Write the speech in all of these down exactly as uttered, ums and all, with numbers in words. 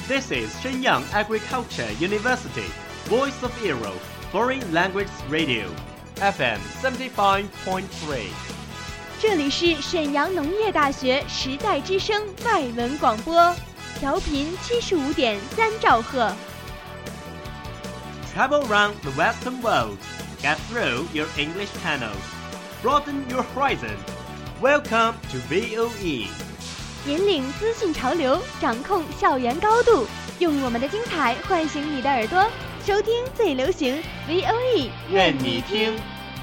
This is Shenyang Agriculture University, Voice of Europe, Foreign Language Radio, F M seventy-five point three. 这里是沈阳农业大学时代之声外文广播，调频七十五点三兆赫。 Travel around the Western world, get through your English channels, broaden your horizon. Welcome to V O E. 引领资讯潮流，掌控校园高度，用我们的精彩唤醒你的耳朵，收听最流行 V O E， 愿你听。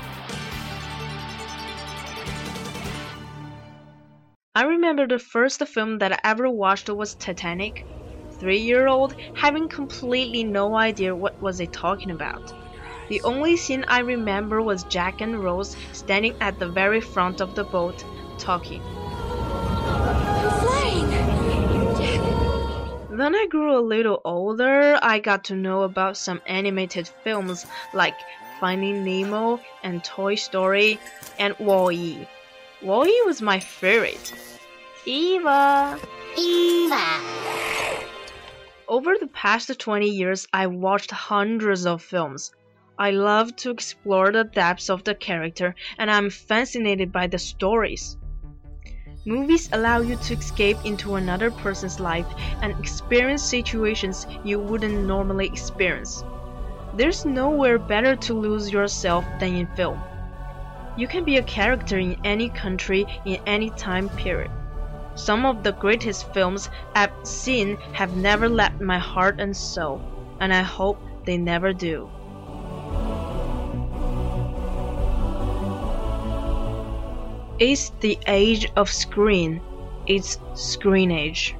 I remember the first film that I ever watched was Titanic. Three-year-old, having completely no idea what was it talking about. The only scene I remember was Jack and Rose standing at the very front of the boat, talking. Flying! When I grew a little older, I got to know about some animated films like Finding Nemo and Toy Story and Wall-E. Wall-E was my favorite. Eva! Eva! Over the past twenty years, I watched hundreds of films. I love to explore the depths of the character, and I'm fascinated by the stories. Movies allow you to escape into another person's life and experience situations you wouldn't normally experience. There's nowhere better to lose yourself than in film. You can be a character in any country, in any time period. Some of the greatest films I've seen have never left my heart and soul, and I hope they never do. It's the age of screen. It's screen age.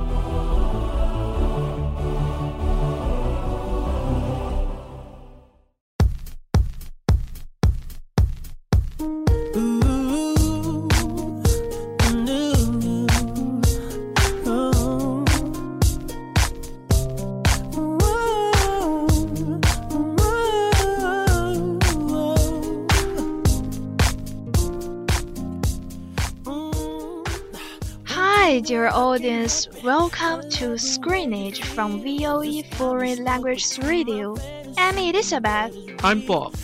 Hi, dear audience. Welcome to Screenage from V O E Foreign Language Radio. I'm Elizabeth. I'm Bob.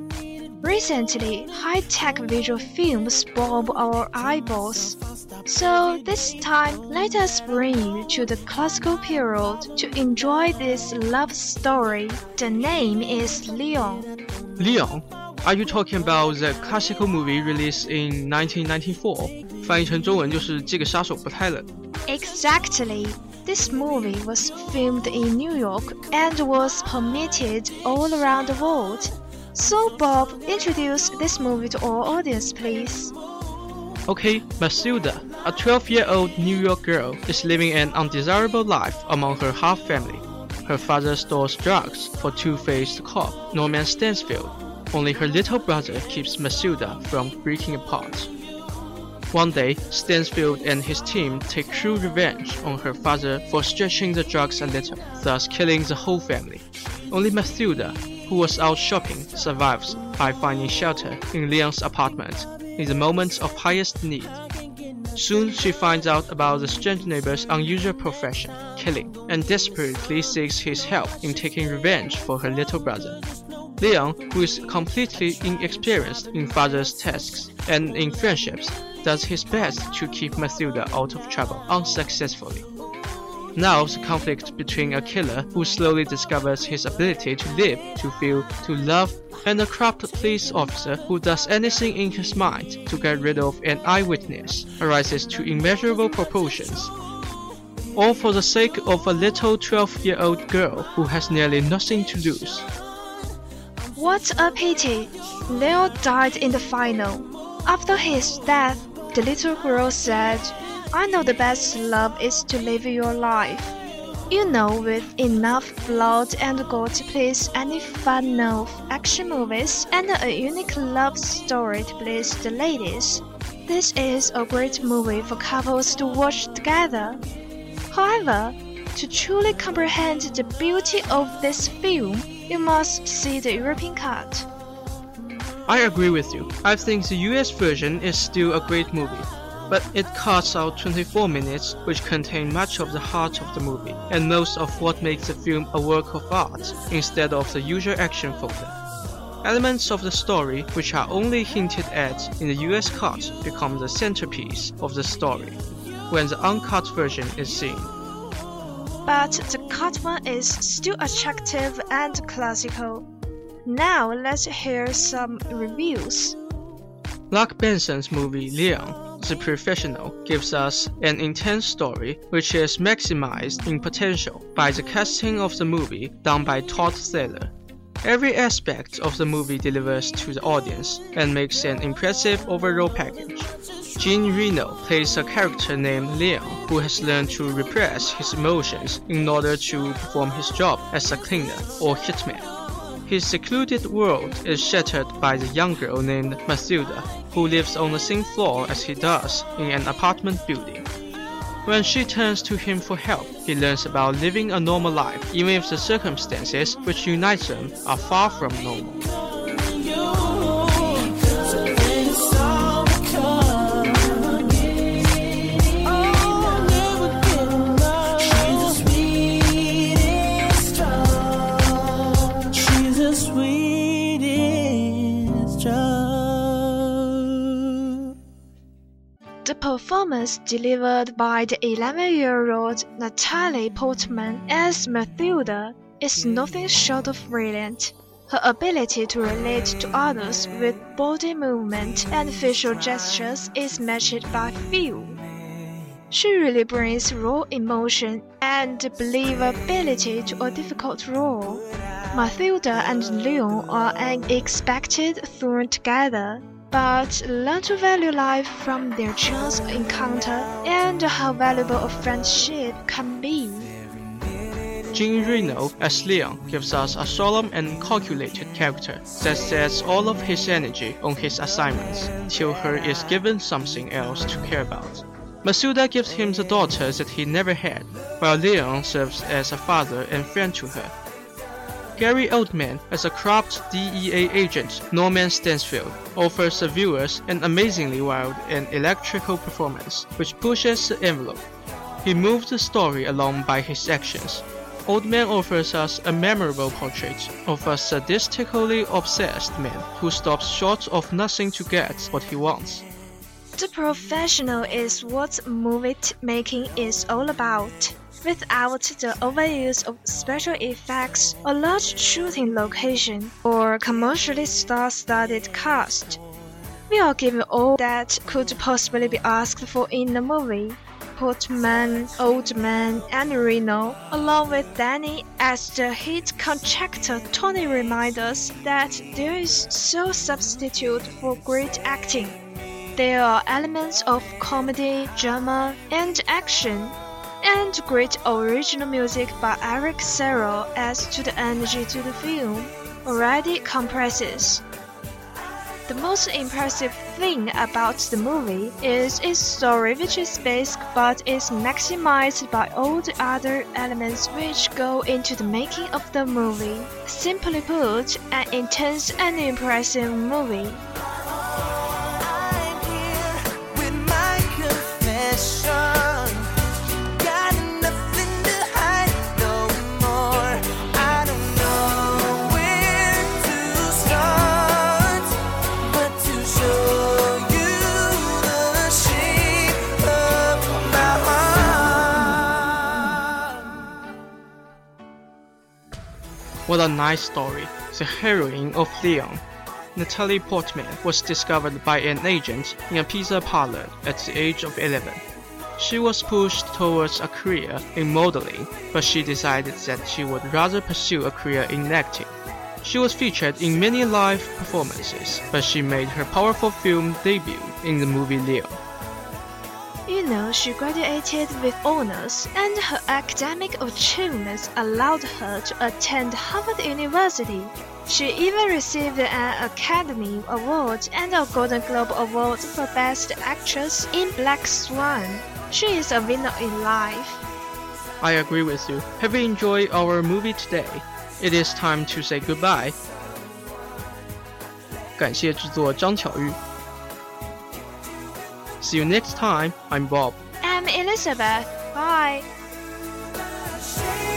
Recently, high-tech visual films bulb our eyeballs. So this time, let us bring you to the classical period to enjoy this love story. The name is Leon. Leon? Are you talking about the classical movie released in nineteen ninety-four? 翻译成中文就是这个杀手不太冷。 Exactly. This movie was filmed in New York and was permitted all around the world. So Bob, introduce this movie to our audience, please. Okay, Matilda, a twelve-year-old New York girl, is living an undesirable life among her half family. Her father stores drugs for two-faced cop Norman Stansfield. Only her little brother keeps Matilda from breaking apart. One day, Stansfield and his team take cruel revenge on her father for stretching the drugs a little, thus killing the whole family. Only Matilda, who was out shopping, survives by finding shelter in Leon's apartment in the moments of highest need. Soon she finds out about the strange neighbor's unusual profession, killing, and desperately seeks his help in taking revenge for her little brother. Leon, who is completely inexperienced in father's tasks and in friendships, does his best to keep Matilda out of trouble unsuccessfully. Now the conflict between a killer who slowly discovers his ability to live, to feel, to love, and a corrupt police officer who does anything in his mind to get rid of an eyewitness arises to immeasurable proportions. All for the sake of a little twelve-year-old girl who has nearly nothing to lose. What a pity! Leo died in the final. After his death, the little girl said, I know the best love is to live your life. You know, with enough blood and gore to please any fan of action movies and a unique love story to please the ladies. This is a great movie for couples to watch together. However, to truly comprehend the beauty of this film, you must see the European cut. I agree with you. I think the U S version is still a great movie. but it cuts out twenty-four minutes which contain much of the heart of the movie and most of what makes the film a work of art instead of the usual action folder. Elements of the story which are only hinted at in the U S cut become the centerpiece of the story when the uncut version is seen. But the cut one is still attractive and classical. Now let's hear some reviews. Luc Benson's movie Leon, The Professional, gives us an intense story which is maximized in potential by the casting of the movie done by Todd Thaler. Every aspect of the movie delivers to the audience and makes an impressive overall package. Jean Reno plays a character named Leon who has learned to repress his emotions in order to perform his job as a cleaner or hitman. His secluded world is shattered by the young girl named Mathilda, who lives on the same floor as he does in an apartment building. When she turns to him for help, he learns about living a normal life even if the circumstances which unite them are far from normal. The performance delivered by the eleven-year-old Natalie Portman as Mathilda is nothing short of brilliant. Her ability to relate to others with body movement and facial gestures is matched by few. She really brings raw emotion and believability to a difficult role. Mathilda and Leon are unexpected thrown together, but learn to value life from their chance encounter and how valuable a friendship can be. Jean Reno as Leon gives us a solemn and calculated character that sets all of his energy on his assignments till her is given something else to care about. Mathilda gives him the daughter that he never had, while Leon serves as a father and friend to her. Gary Oldman as a corrupt D E A agent Norman Stansfield offers the viewers an amazingly wild and electrical performance which pushes the envelope. He moves the story along by his actions. Oldman offers us a memorable portrait of a sadistically obsessed man who stops short of nothing to get what he wants. The Professional is what movie making is all about. Without the overuse of special effects, a large shooting location, or commercially star-studded cast, we are given all that could possibly be asked for in a movie. Portman, Oldman, and Reno, along with Danny as the hit contractor Tony, remind us that there is no substitute for great acting. There are elements of comedy, drama, and action, and great original music by Eric Serra adds to the energy to the film already compresses. The most impressive thing about the movie is its story, which is basic but is maximized by all the other elements which go into the making of the movie. Simply put, an intense and impressive movie. What a nice story. The heroine of Leon, Natalie Portman, was discovered by an agent in a pizza parlor at the age of eleven. She was pushed towards a career in modeling, but she decided that she would rather pursue a career in acting. She was featured in many live performances, but she made her powerful film debut in the movie Leon. You know, she graduated with honors, and her academic achievements allowed her to attend Harvard University. She even received an Academy Award and a Golden Globe Award for Best Actress in Black Swan. She is a winner in life. I agree with you. Have you enjoyed our movie today? It is time to say goodbye. 感谢制作张巧玉。 See you next time. I'm Bob. I'm Elizabeth. Bye. Shame